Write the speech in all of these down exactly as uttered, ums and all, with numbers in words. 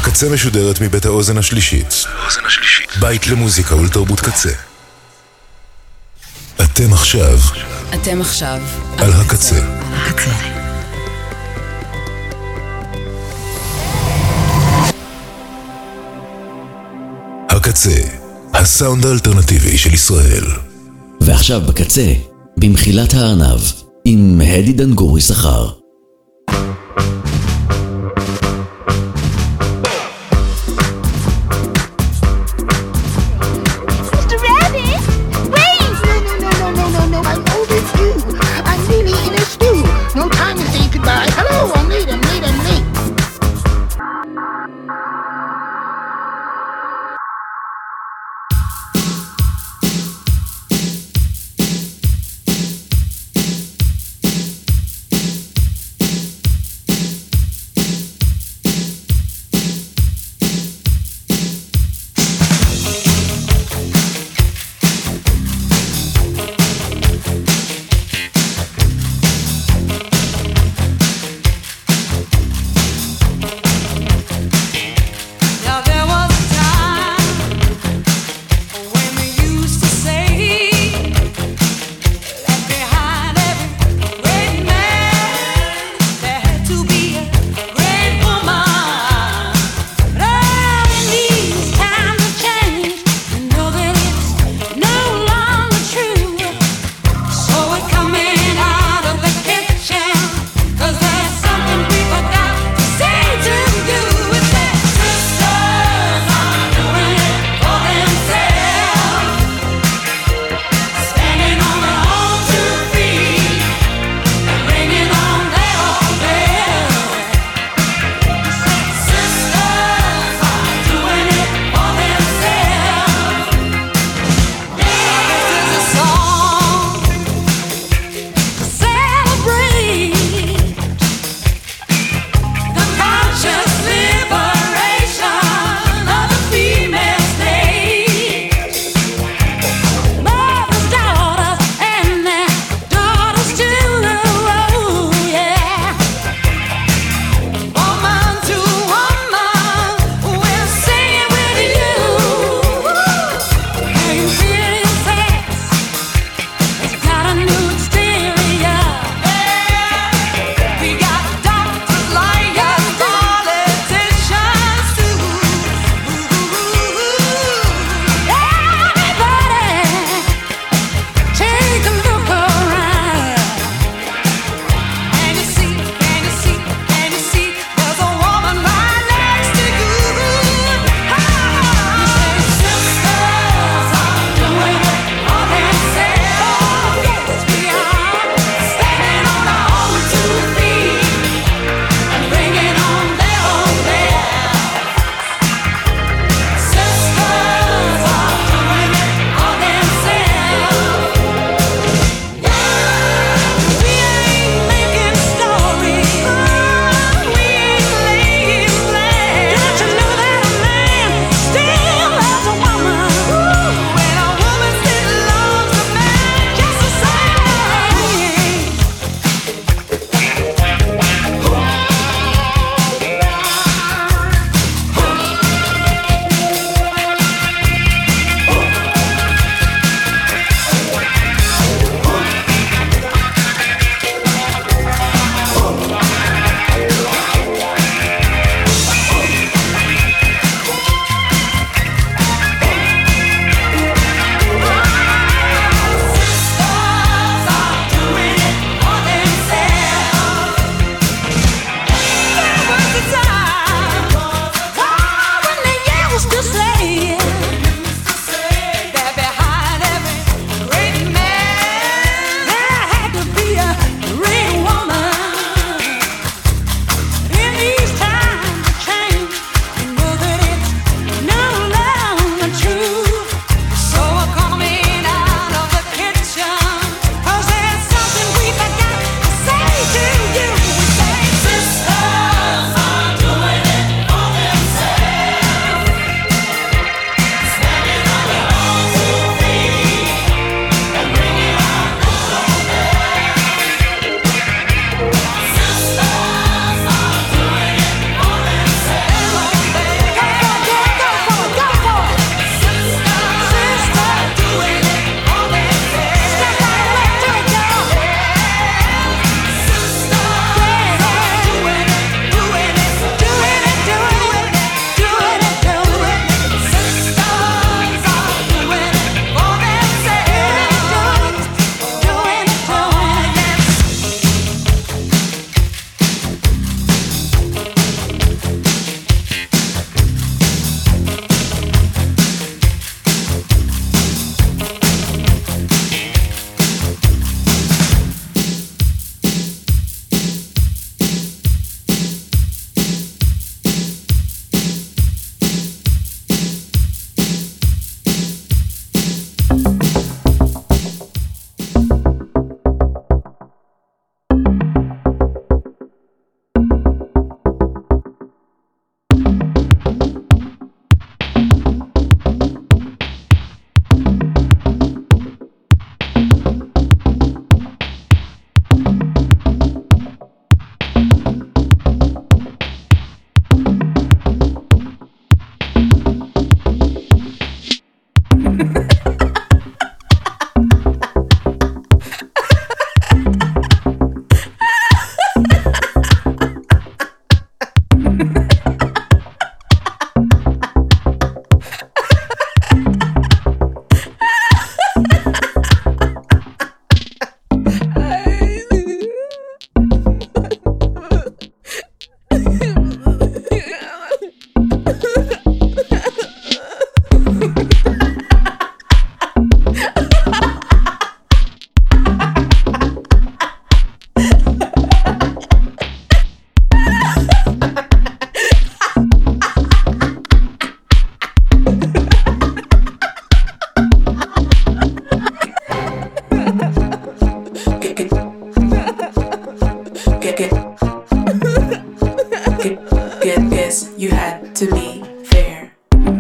הקצה משודרת מבית האוזן השלישית. בית למוזיקה ולתרבות קצה. אתם עכשיו. אתם עכשיו. על הקצה. הקצה. הקצה, הסאונד האלטרנטיבי של ישראל. ועכשיו בקצה, במחילת הארנב, עם הדי דנגורי שכר. Guess you had to be fair.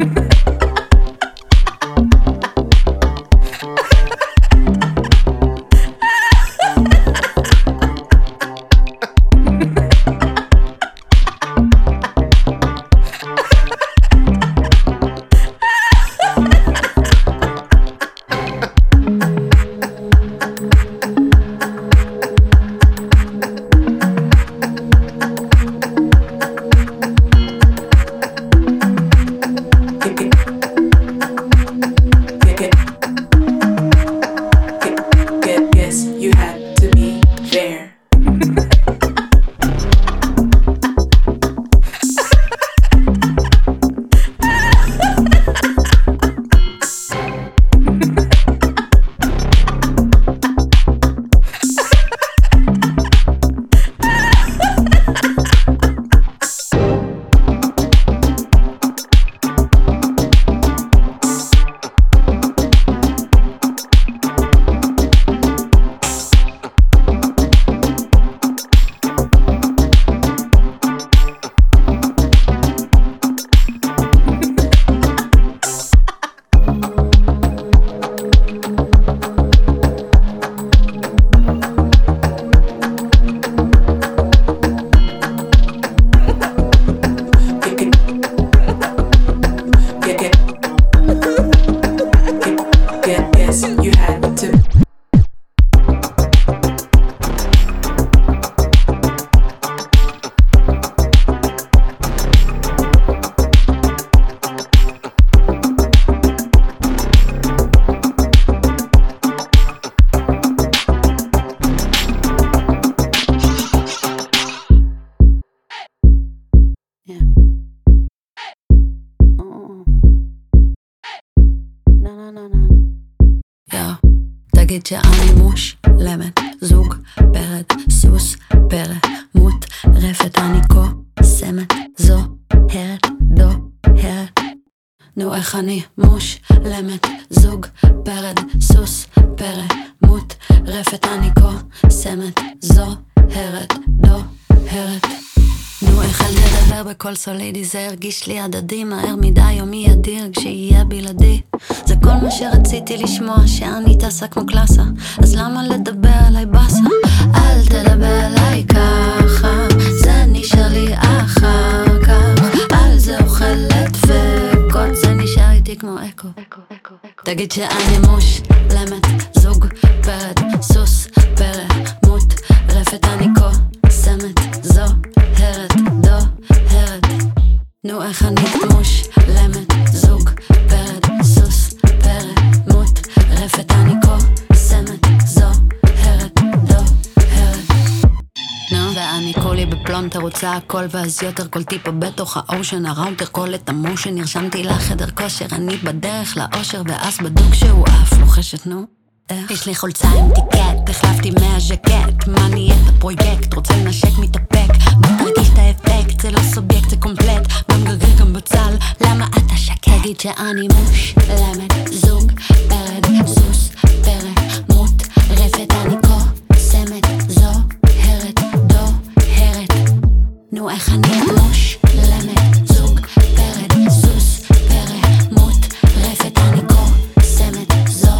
תגיד שאני מושלמת, זוג, פרד, סוס, פרא, מות, רפת, אני קוסמת, זו, הרת, דו, הרת. נו איך אני מושלמת, זוג, פרד, סוס, פרא, מות, רפת, אני קוסמת, זו, הרת, דו, הרת. נו איך אני אדבר בקול סולידי, זה הרגיש לי הדדי, מהר מדי יומי אדיר כשיהיה בלעדי. זה כל מה שרציתי לשמוע, שאני טסה כמו קלאסה, אז למה לדבר עליי בסה? אל תדבר עליי ככה, זה נשאר לי אחר כך, על זה אוכלת דפקות, זה נשאר איתי כמו אקו. תגיד שאני מושלמת, זוג, פרד, סוס, פרא, מות, רפת, אני קוסמת, זו, הרת, דו, הרת. נו איך אני מושלמת, זוג, פרד, סוס, פרא, מות, רפת, אני קוסמת, זו, הרת, דו, הרת. נו ואני כולי בפלונטר, רוצה הכל ואז יותר, כל טיפה בתוך האושן, הראוטר, כל את המושן, נרשמתי לחדר כושר, אני בדרך לאושר, ואז בדוק שהוא אף לוחשת, נו יש לי חולצה עם טיקט, החלפתי מהז'קט, מה נהיית הפרויקט, רוצה לנשק מתאפק, בוא תרגיש את האפקט, זה לא סובייקט, זה קומפלט, גם גרגר גם בצל, למה אתה שקט? תגיד שאני מושלמת, זוג, פרד, סוס, פרא, מות, רפת, אני קוסמת, זו, הרת, דו, הרת. נו איך אני מושלמת, זוג, פרד, סוס, פרא, מות, רפת, אני קוסמת, זו,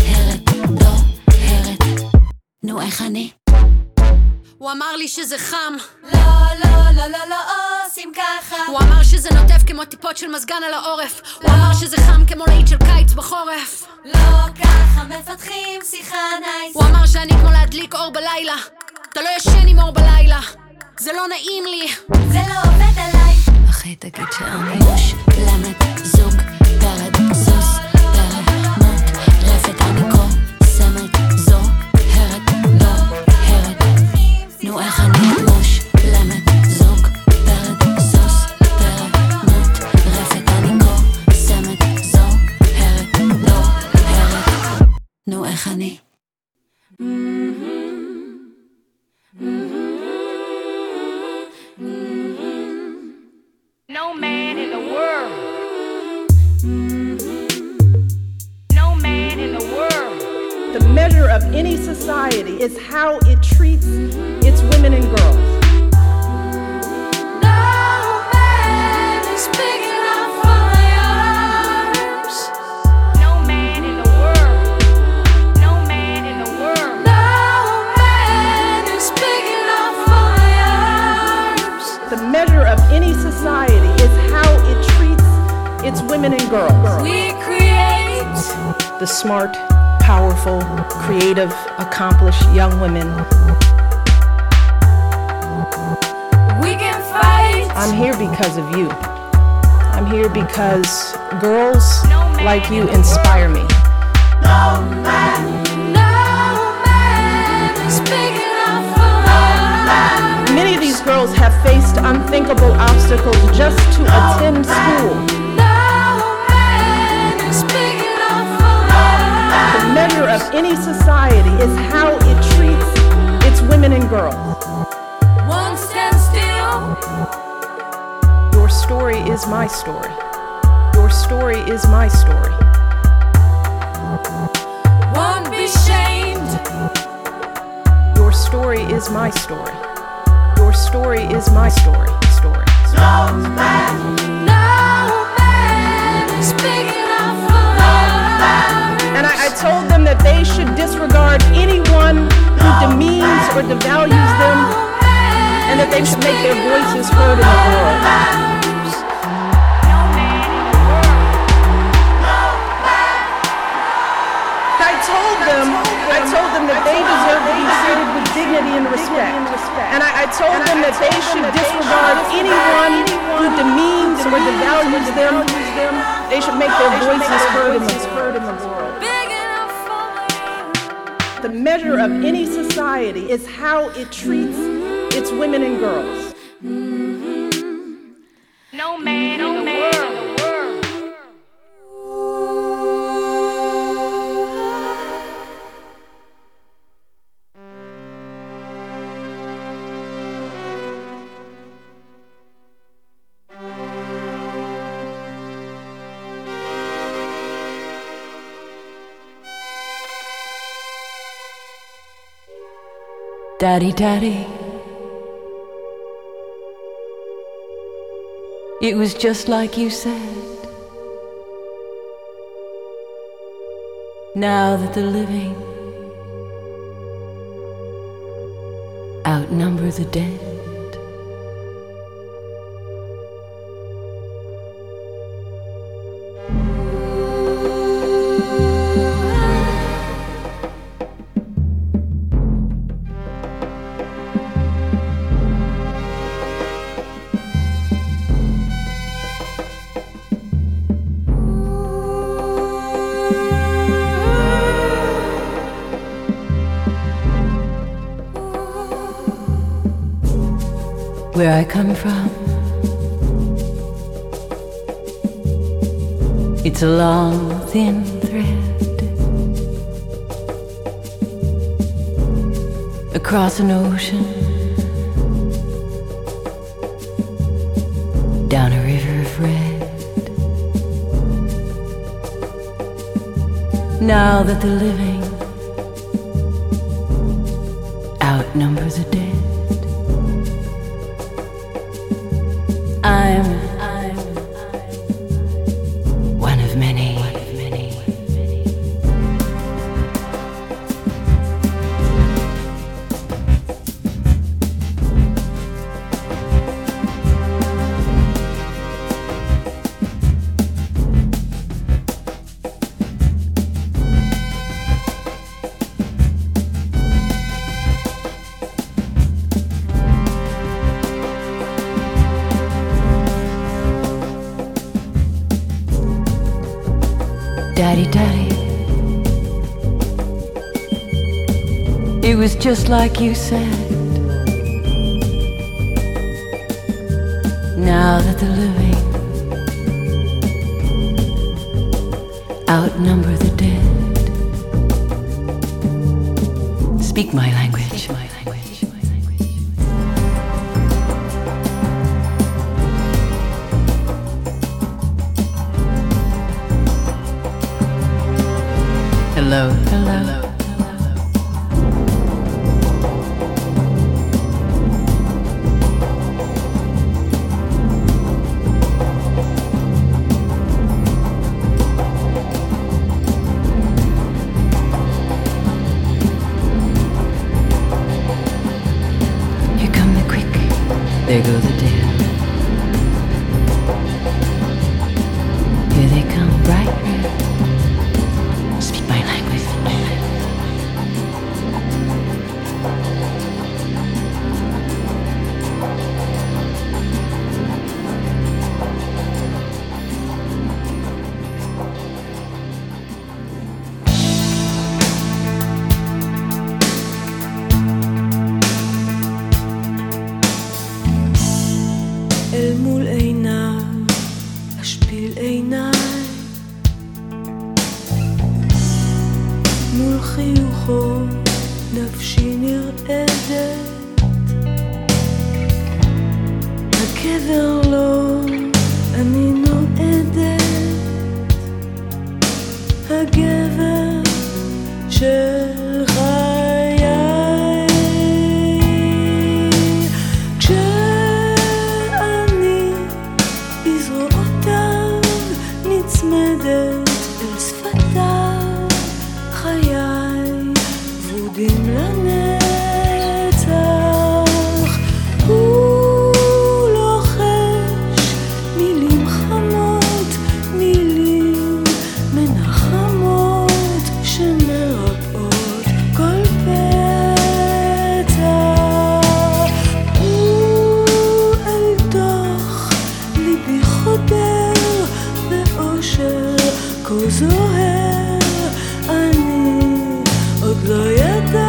נו איך אני? הוא אמר לי שזה חם, לא, לא, לא, לא, לא עושים ככה. הוא אמר שזה נוטף כמו טיפות של מזגן על העורף, הוא אמר שזה חם כמו להיט של קיץ בחורף. לא ככה מפתחים שיחה נייס. הוא אמר שאני כמו להדליק אור בלילה, אתה לא ישן עם אור בלילה, זה לא נעים לי, זה לא עובד עליי. אחי תגיד שאני מושלמת, זוג, פרד, סוס, פרא, מות, רפת, אני קוסמת, זו, הרת, דו, הרת. נו איך אני מושלמת, זוג, פרד, סוס, פרא, מות, רפת, אני קוסמת, זו, הרת, דו, הרת. נו איך אני? No man in the world, no man in the world. The measure of any society is how it treats its women and girls. No. it's women and girls. We create The smart, powerful, creative, accomplished young women. We can fight. I'm here because of you. I'm here because girls like you inspire me. No man is big enough for us. Many of these girls have faced unthinkable obstacles just to attend school. No man is big enough for us. The measure of any society is how it treats its women and girls. Won't stand still. Your story is my story. Your story is my story. Won't be shamed. Your story is my story. Your story is my story. Story. No man, no man is big enough for us. And I, I told them that they should disregard anyone who demeans or devalues them, and that they should make their voices heard in the world. I told them, I told them that they deserve to be treated with dignity and respect. And I, I told them that they should disregard anyone who demeans or devalues them. They should make their voices heard in the world. Big enough for us. The measure of any society is how it treats its women and girls. No man in the world. Daddy, Daddy, it was just like you said. Now that the living outnumber the dead, where I come from, it's a long, thin thread across an ocean, down a river of red. Now that the living outnumber the dead, I'm, I'm, one of many, one of many, many. Daddy, Daddy, it was just like you said. Now that the living outnumber the dead, speak my language. Speak my language. Hello, hello, hello. Here come the quick, there go the dead. לו אני נועדת הגבר של חיי כשאני בזרועותיו נצמדת אל שפתיו חיי ורודים לנצח הוא לוחש מילים חמות מילים מנחמות שמרפאות כל פצע הוא אל תוך ליבי חודר באושר כה זוהר אני עוד לא ידעתי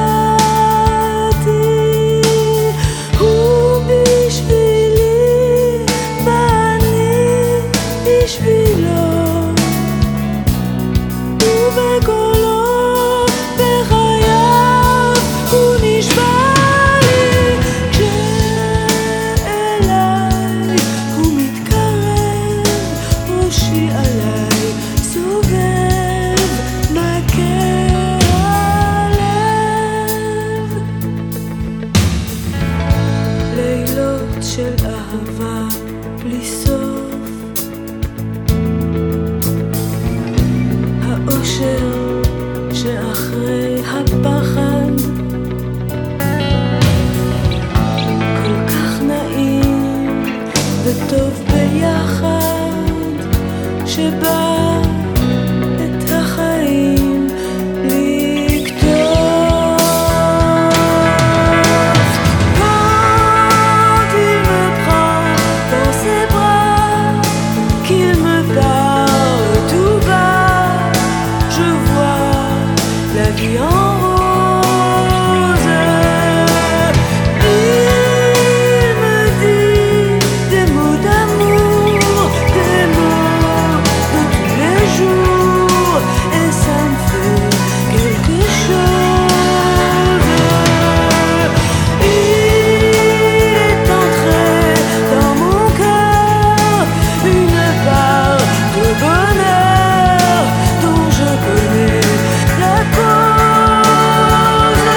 הוא בשבילי ואני בשבילו ובקולו בחייו הוא נשבע לי כשאליי הוא מתקרב ראשי עליי סובב מכה הלב לילות של אהבה בלי סוף האושר שאחרי הפחד כל כך נעים וטוב ביחד שבא את החיים לקטוף quand il me prend dans ses bras qu'il me parle tout bas je vois la vie en rose il me dit des mots d'amour des mots de tous les jours et ça me fait quelque chose il est entré dans mon cœur une part de bonheur dont je connais la cause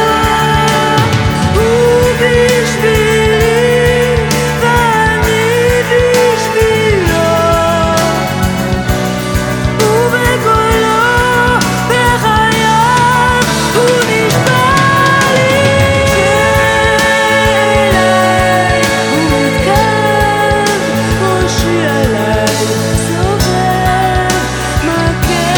ובשבילי ואני בשבילו ובקולו בחייו הוא נשבע לי כשאליי הוא מתקרב ראשי עליי סובב מכה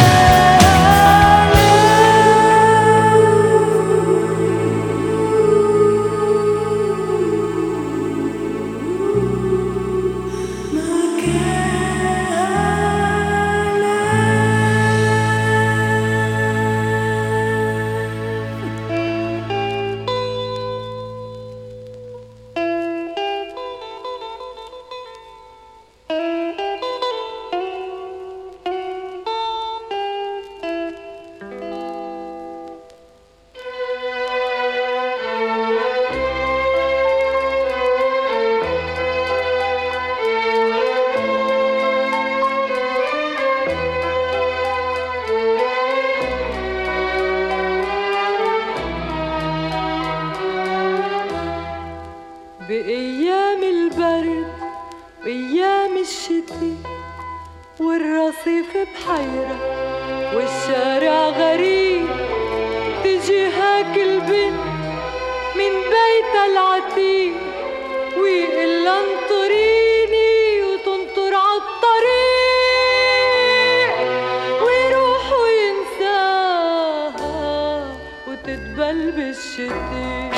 بأيام البرد وأيام الشتي والرصيف بحيرة والشارع غريب تجي هاك البنت من بيتها العتيق ويقلها انطريني وتنطر عالطريق ويروح وينساها وتتبل بالشتي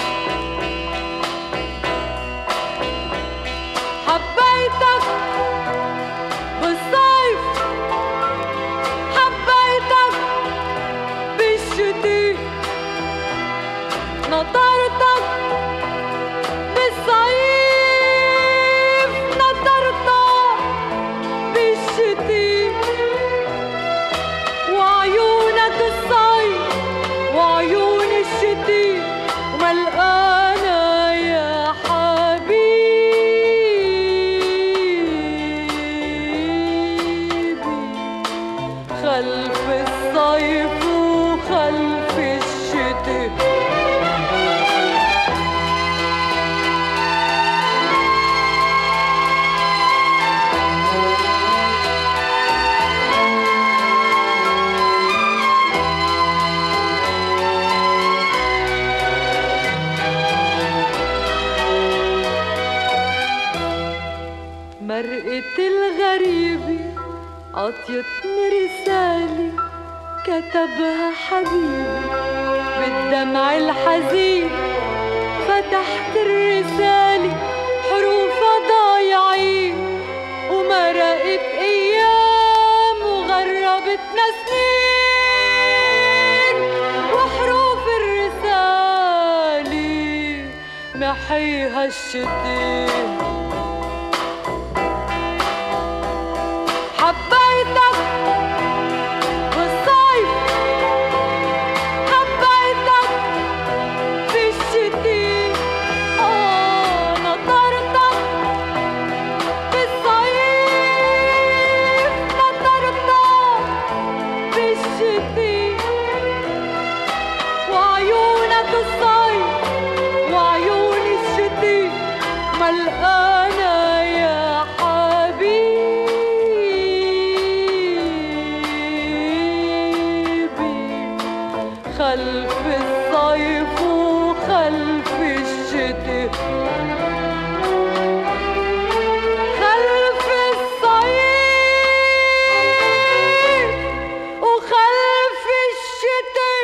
حبيتك بالصيف حبيتك بالشتي نطرتك بالصيف الغريبة عطيتني رسالة كتبها حبيبي بالدمع الحزين. فتحت الرسالة حروفها ضايعين ومرقت أيام وغربتنا سنين. وحروف الرسالة محيها الشتين. حبيتك بالصيف حبيتك بالشتي آه نطرتك بالصيف نطرتك بالشتي. وعيونك الصيف وعيون الشتي ملقانة يا خلف الصيف وخلف الشتي. خلف الصيف وخلف الشتي.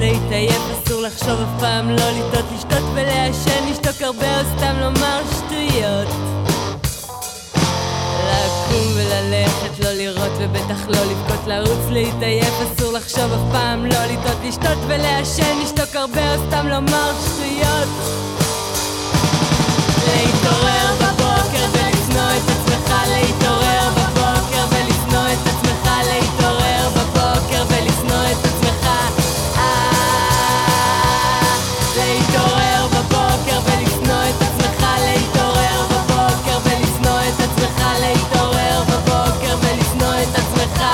להתעייף, אסור לחשוב אף פעם, לא לטעות, לשתות ולעשן, לשתוק הרבה או סתם לומר שטויות. לקום וללכת, לא לראות ובטח לא לבכות, לרוץ להתעייף, אסור לחשוב אף פעם, לא לטעות, לשתות ולעשן, לשתוק הרבה או סתם לומר שטויות. להתעורר בבוקר ולשנוא את עצמך, להתעורר בבוקר ולשנוא את עצמך, להתעורר בבוקר ולשנוא את עצמך, להתעורר בבוקר ולשנוא את עצמך, להתעורר בבוקר ולשנוא את עצמך, להתעורר בבוקר ולשנוא את עצמך.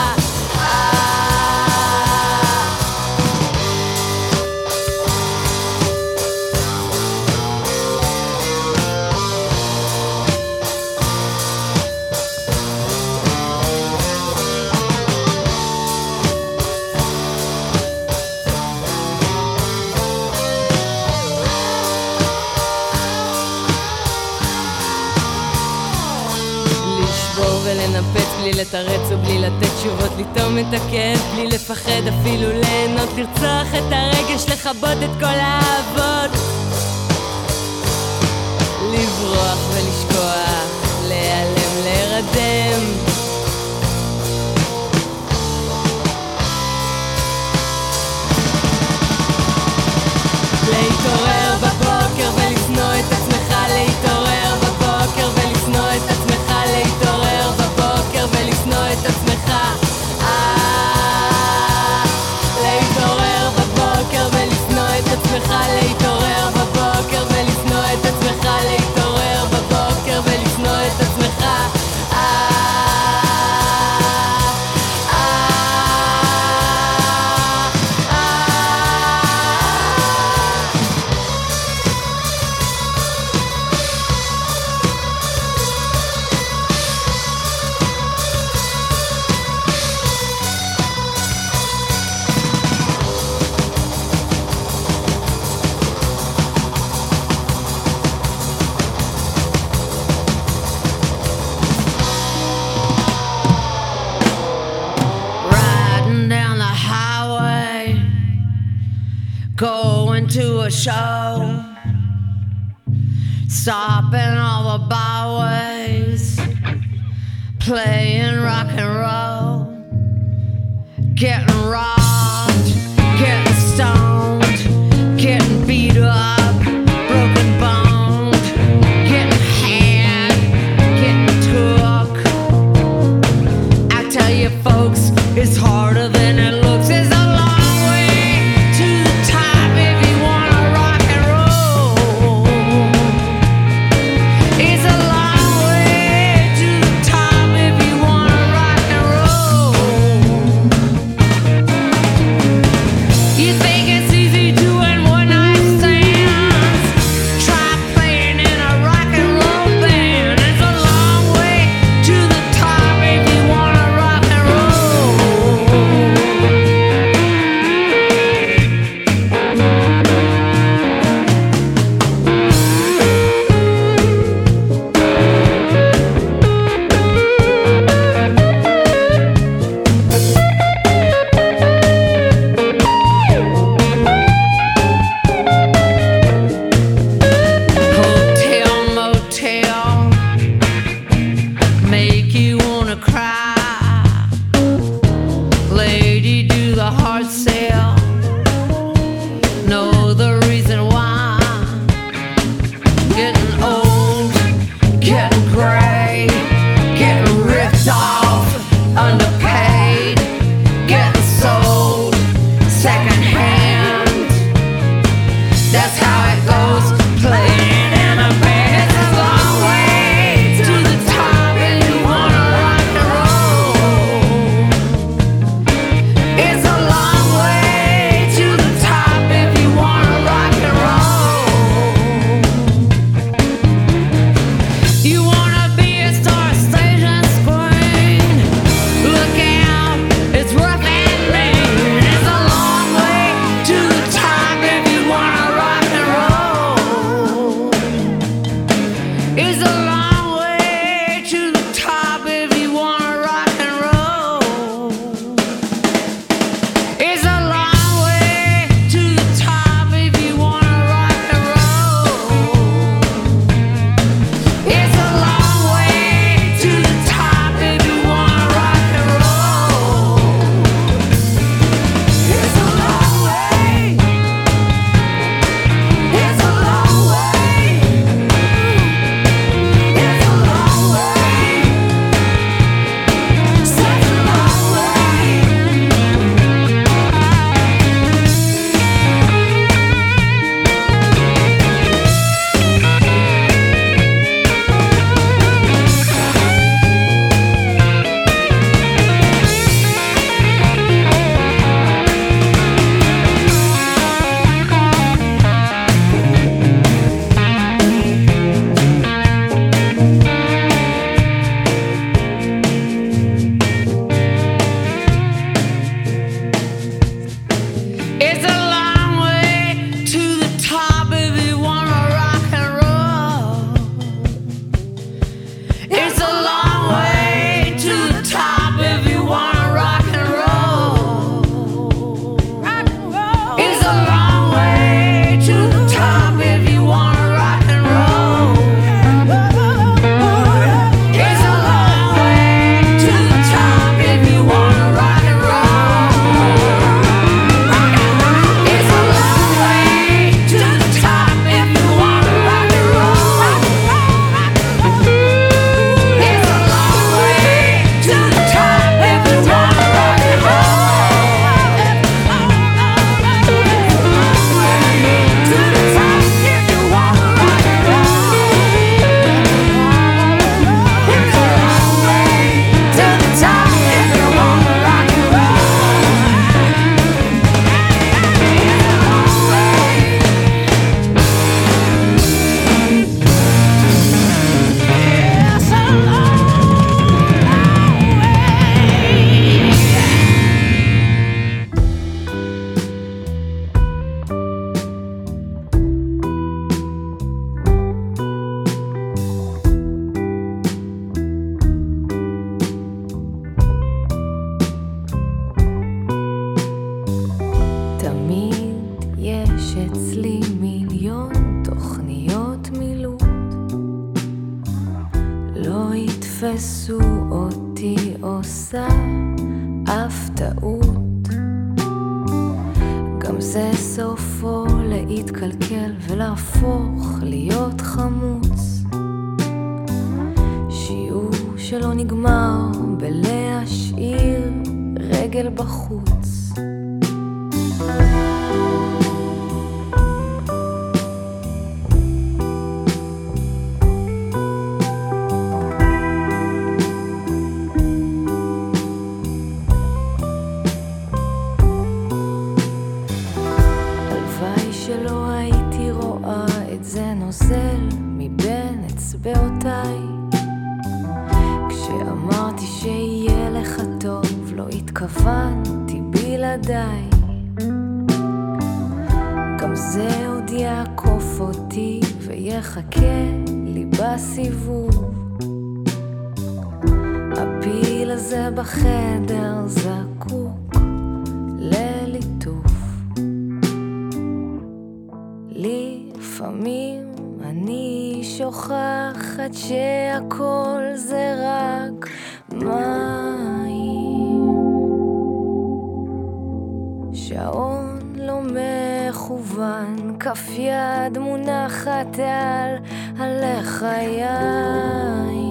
ולנפץ בלי לתרץ ובלי לתת תשובות, לטום את הכאב בלי לפחד אפילו ליהנות, לרצוח את הרגש, לכבות את כל האהבות, לברוח ולשכוח, להיעלם, להירדם, להתעורר בבוקר ולשנוא את עצמך, להתעורר בבוקר ולשנוא את עצמך, להתעורר בבוקר ולשנוא את עצמך, להתעורר בבוקר ולשנוא את עצמך, להתעורר בבוקר ולשנוא את עצמך, להתעורר בבוקר ולשנוא את עצמך. Going to a show, stopping all the byways, playing rock and roll, getting robbed, getting stoned, getting beat up, broken boned, getting had, getting took. I tell you folks, it's harder than it looks. It's a long way to the top if you wanna rock and roll. It's a long way to the top if you wanna rock and roll. לא יתפסו אותי עושה אף טעות. גם זה סופו להתקלקל ולהפוך להיות חמוץ. שיעור שלא נגמר בלהשאיר רגל בחוץ. מבין אצבעותיי כשאמרתי שיהיה לך טוב לא התכוונתי בלעדיי. גם זה עוד יעקוף אותי ויחכה לי בסיבוב. הפיל הזה בחדר זקוק לליטוף. לפעמים אני שוכחת שהכל זה רק מים. שעון לא מכוון, כף יד מונחת על הלחיים.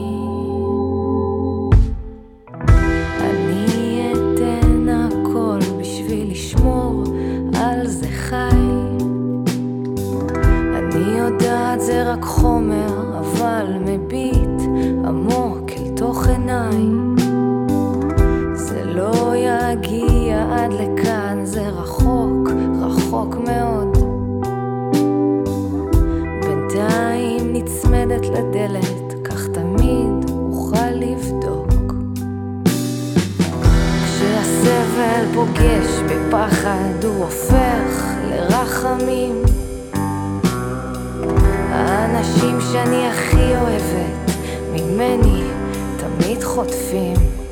אני אתן הכל בשביל לשמור על זה חי. אני יודעת זה רק חומר, אבל מביט עמוק אל תוך עיניי. זה לא יגיע עד לכאן, זה רחוק, רחוק מאוד. בינתיים נצמדת לדלת, כך תמיד אוכל לבדוק. כשהסבל פוגש בפחד הוא הופך לרחמים. האנשים שאני הכי אוהבת ממני תמיד חוטפים.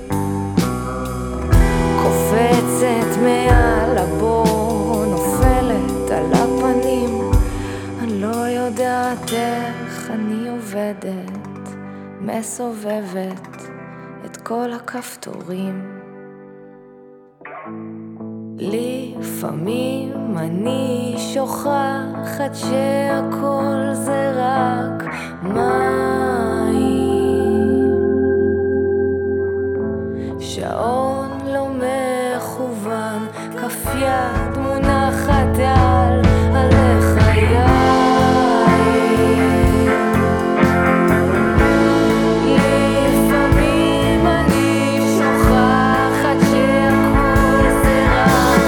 קופצת מעל הבור, נופלת על הפנים. אני לא יודעת איך אני עובדת, מסובבת את כל הכפתורים. לפעמים אני שוכחת שהכל זה רק מים. שעון לא מכוון, כף יד מונחת על הלחיים. לפעמים אני שוכחת שהכל זה רק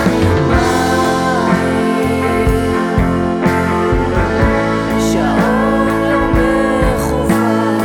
מים. שעון לא מכוון,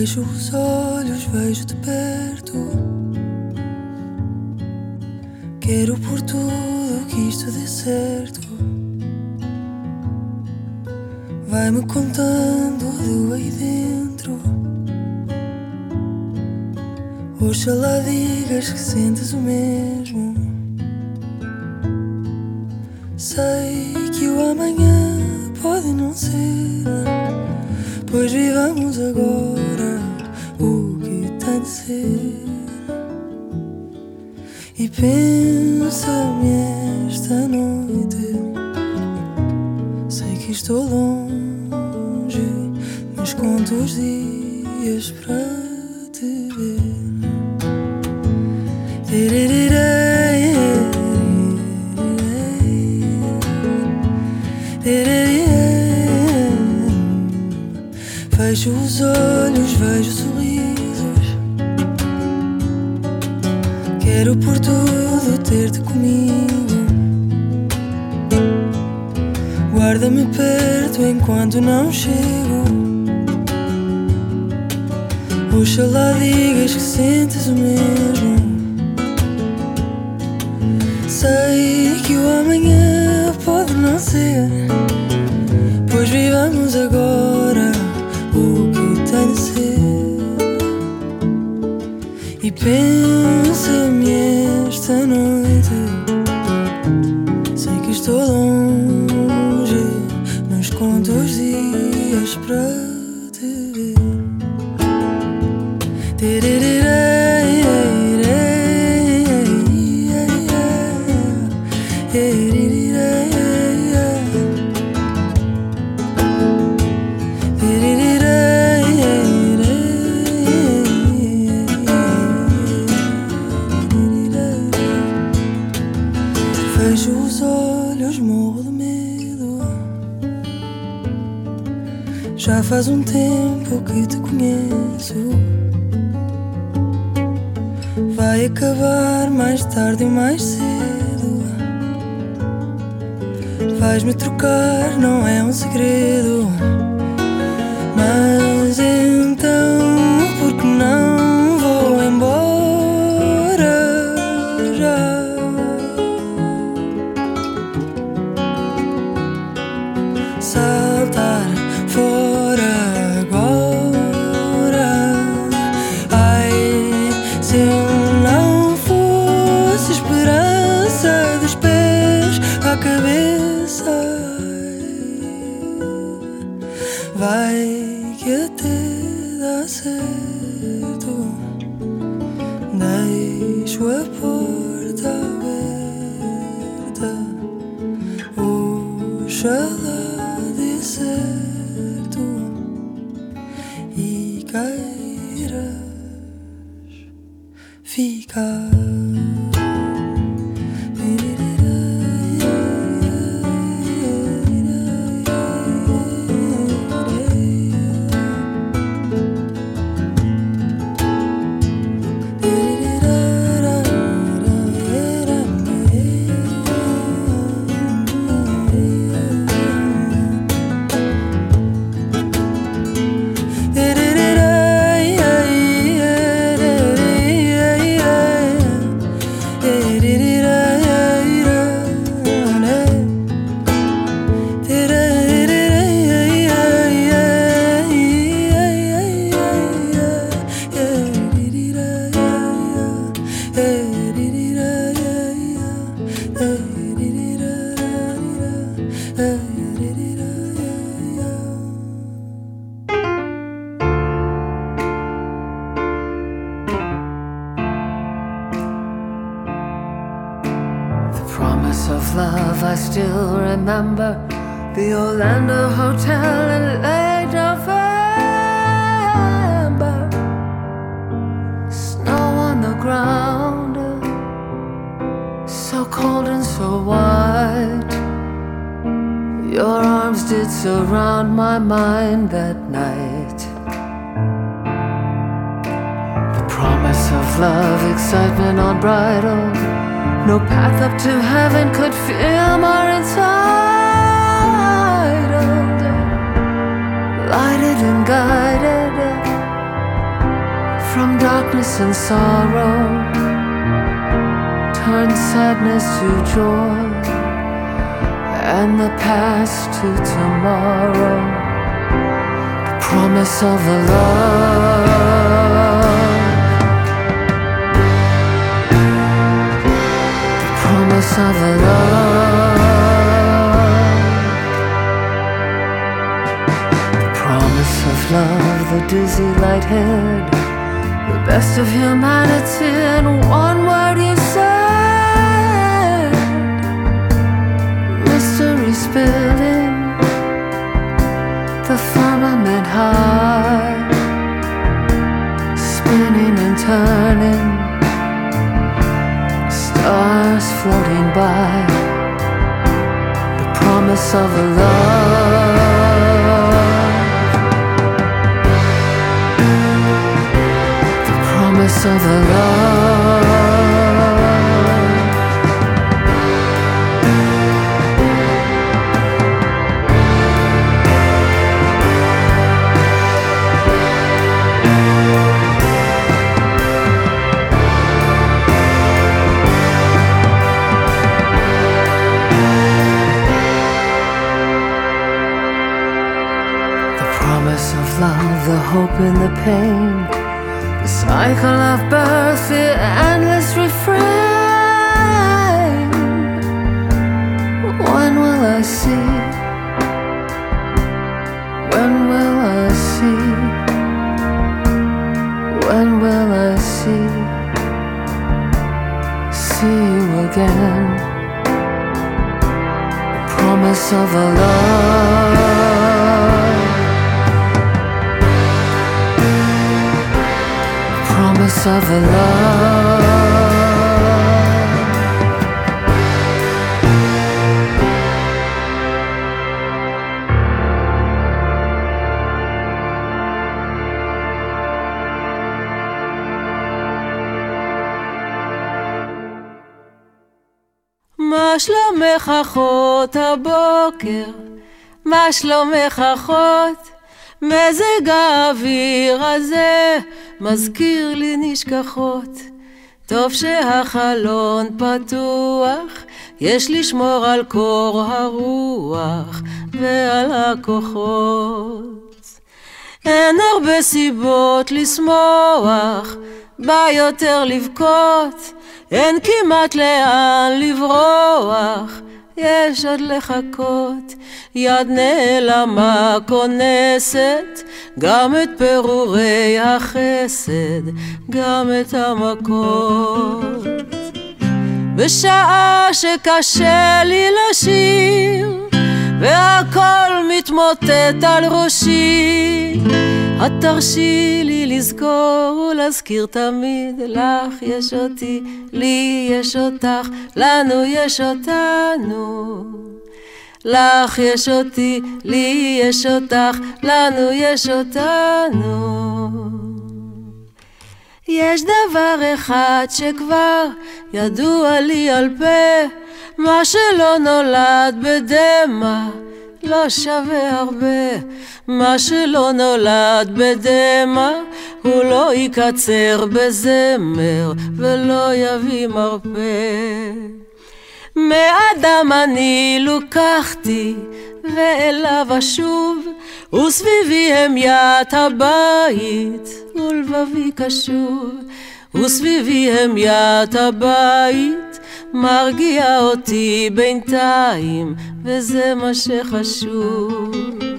Fecho os olhos, vejo-te perto. Quero por tudo que isto dê certo. Vai-me contando do aí dentro. Oxalá digas que sentes o mesmo. Sei que o amanhã pode não ser, pois vivamos agora o que tem de ser. E pensa-me esta noite, sei que estou longe, mas conto os dias para te ver. Fecho os olhos, vejo sorrisos. Quero por tudo ter-te comigo. Guarda-me perto enquanto não chego. Oxalá digas que sentes o mesmo. Sei que o amanhã pode não ser, pois vivamos agora o que tem de ser. E pensa-me esta noite, sei que estou longe, mas conto os dias para te ver. Fecho os olhos, morro de medo. Já faz um tempo que te conheço. Vai acabar mais tarde ou mais cedo. Vais-me trocar, não é um segredo. Mas então, por que não vou embora já? Saltar fora agora. Ai, se eu não fosse esperança dos pés à cabeça, vai que até dá certo. Deixo a porta aberta. Oxalá dê certo e queiras ficar. I still remember the Orlando Hotel in late November. Snow on the ground, so cold and so white. Your arms did surround my mind that night. The promise of love, excitement unbridled. No path up to heaven could feel more entitled. Lighted and guided from darkness and sorrow, turn sadness to joy, and the past to tomorrow. The promise of the love, the promise of the love, the promise of love, the dizzy lighthead, the best of humanity in one word you said. Mystery spilling, the firmament high, spinning and turning, stars floating by. The promise of a love, the promise of a love. Love, the hope and the pain, the cycle of birth, the endless refrain. When will I see? When will I see? When will I see? See you again. The promise of a love, promise of a love. מה שלומך אחות הבוקר? מה שלומך אחות? מזג האוויר הזה מזכיר לי נשכחות. טוב שהחלון פתוח, יש לשמור על קור הרוח ועל הכוחות. אין הרבה סיבות לשמוח, בא יותר לבכות, אין כמעט לאן לברוח, יש עוד לחכות. יד נעלמה כונסת גם את פירורי החסד, גם את המכות. בשעה שקשה לי לשיר והכל מתמוטט על ראשי, את תרשי לי לזכור ולהזכיר תמיד, לך יש אותי, לי יש אותך, לנו יש אותנו. לך יש אותי, לי יש אותך, לנו יש אותנו. יש דבר אחד שכבר ידוע לי על פה, מה שלא נולד בדמע לא שווה הרבה. מה שלא נולד בדמע הוא לא יקצר בזמר ולא יביא מרפא. מאדם אני לוקחתי ואליו אשוב, וסביבי המיית הבית ולבבי קשוב. וסביבי המיית הבית מרגיע אותי בינתיים, וזה מה שחשוב.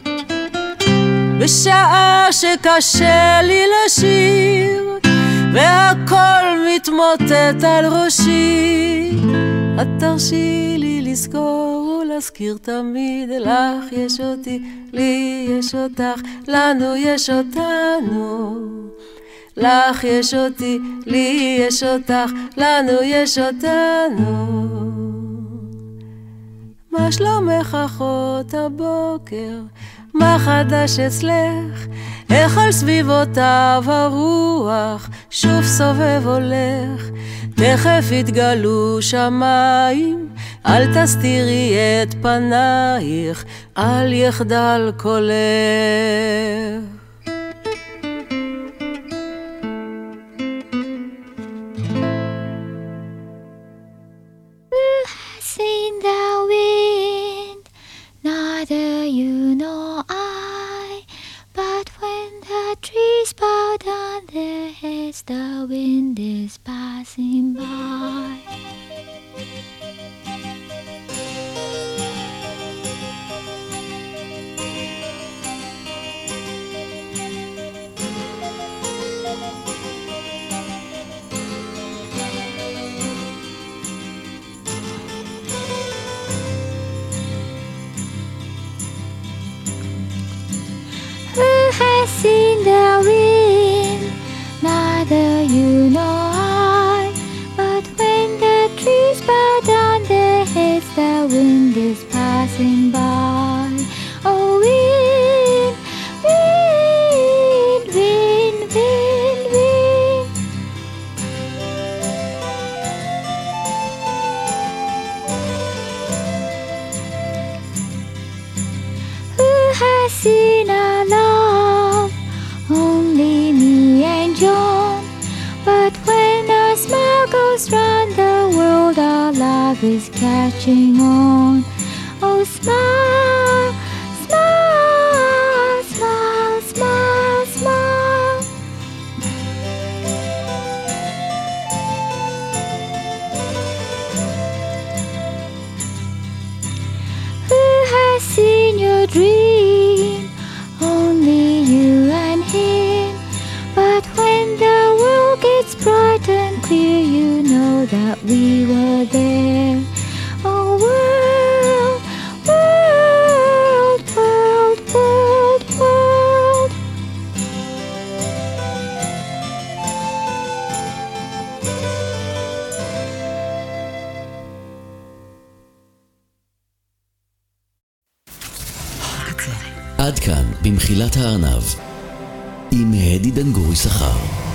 בשעה שקשה לי לשיר והכל מתמוטט על ראשי, את תרשי לי לזכור ולהזכיר תמיד, לך יש אותי, לי יש אותך, לנו יש אותנו. לך יש אותי, לי יש אותך, לנו יש אותנו. מה שלומך אחות הבוקר? מה חדש אצלך? איך על סביבותיו הרוח שוב סובב הולך? תכף יתגלו שמיים, אל תסתירי את פנייך, אל יחדל קולך. is passing by. Who has seen the wind? Neither you nor I. But when the trees bow down their heads, the wind is passing by. Oh, wind, wind, wind, wind, wind. Who has seen our love? Only me and John. But when our smile goes round the world, our love is catching on. Oh, smile, smile, smile, smile, smile. Who has seen your dream? Only you and him. But when the world gets bright and clear, you know that we were there. Oh, world, world, world, world, world. עד כאן במחילת הארנב עם הדי דנגורי שכר.